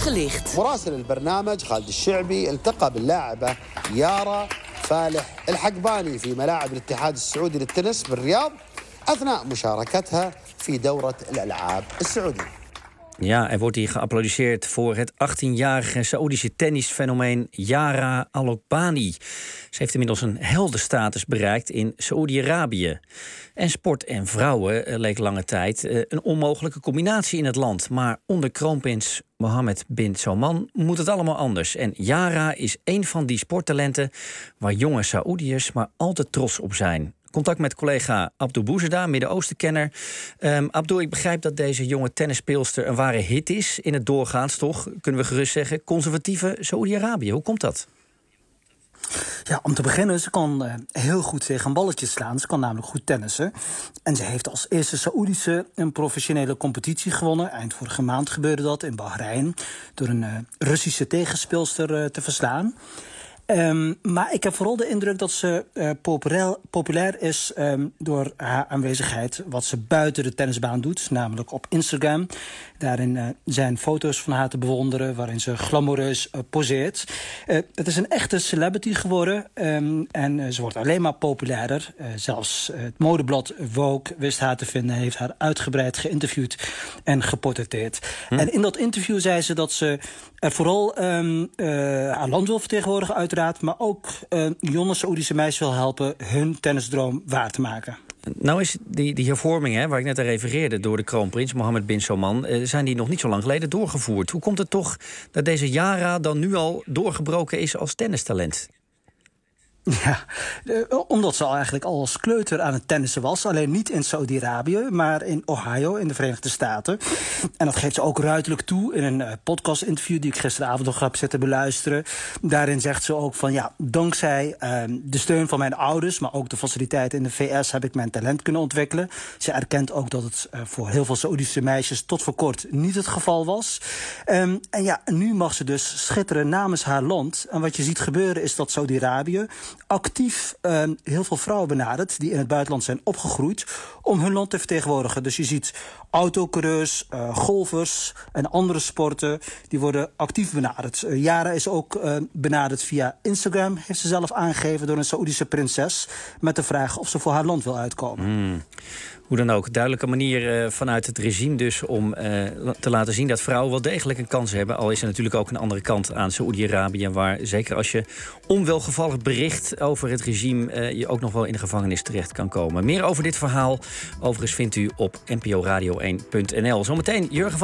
Uitgelicht. مراسل البرنامج خالد الشعبي التقى باللاعبة يارا فالح الحقباني في ملاعب الاتحاد السعودي للتنس بالرياض أثناء مشاركتها في دورة الألعاب السعودية. Ja, er wordt hier geapplaudisseerd voor het 18-jarige Saoedische tennisfenomeen Yara Alokbani. Ze heeft inmiddels een heldenstatus bereikt in Saoedi-Arabië. En sport en vrouwen leek lange tijd een onmogelijke combinatie in het land. Maar onder kroonprins Mohammed bin Salman moet het allemaal anders. En Yara is een van die sporttalenten waar jonge Saoediërs maar al te trots op zijn. Contact met collega Abdul Bouzeda, Midden-Oosten-kenner. Abdul, ik begrijp dat deze jonge tennisspeelster een ware hit is in het doorgaans, toch? Kunnen we gerust zeggen, conservatieve Saoedi-Arabië. Hoe komt dat? Ja, om te beginnen, ze kan heel goed tegen balletjes slaan. Ze kan namelijk goed tennissen. En ze heeft als eerste Saoedische een professionele competitie gewonnen. Eind vorige maand gebeurde dat in Bahrein. Door een Russische tegenspeelster te verslaan. Maar ik heb vooral de indruk dat ze populair is door haar aanwezigheid, wat ze buiten de tennisbaan doet, namelijk op Instagram. Daarin zijn foto's van haar te bewonderen waarin ze glamoureus poseert. Het is een echte celebrity geworden en ze wordt alleen maar populairder. Zelfs het modeblad Vogue wist haar te vinden, heeft haar uitgebreid geïnterviewd en geportretteerd. En in dat interview zei ze dat ze er vooral haar land wil vertegenwoordigen, uiteraard, maar ook jonge Saoedische meisjes wil helpen hun tennisdroom waar te maken. Nou is die hervormingen, waar ik net aan refereerde, door de kroonprins Mohammed bin Salman, zijn die nog niet zo lang geleden doorgevoerd. Hoe komt het toch dat deze Yara dan nu al doorgebroken is als tennistalent? Ja, omdat ze eigenlijk al als kleuter aan het tennissen was. Alleen niet in Saudi-Arabië, maar in Ohio, in de Verenigde Staten. En dat geeft ze ook ruidelijk toe in een podcast-interview die ik gisteravond nog heb zitten beluisteren. Daarin zegt ze ook van ja, dankzij de steun van mijn ouders, maar ook de faciliteiten in de VS heb ik mijn talent kunnen ontwikkelen. Ze erkent ook dat het voor heel veel Saoedische meisjes tot voor kort niet het geval was. En ja, nu mag ze dus schitteren namens haar land. En wat je ziet gebeuren is dat Saudi-Arabië actief heel veel vrouwen benadert die in het buitenland zijn opgegroeid om hun land te vertegenwoordigen. Dus je ziet autocoureurs, golfers en andere sporten die worden actief benaderd. Yara is ook benaderd via Instagram, heeft ze zelf aangegeven, door een Saoedische prinses met de vraag of ze voor haar land wil uitkomen. Hoe dan ook, duidelijke manier vanuit het regime dus om te laten zien dat vrouwen wel degelijk een kans hebben. Al is er natuurlijk ook een andere kant aan Saoedi-Arabië, waar zeker als je onwelgevallig bericht over het regime je ook nog wel in de gevangenis terecht kan komen. Meer over dit verhaal overigens vindt u op nporadio1.nl. Zometeen Jurgen van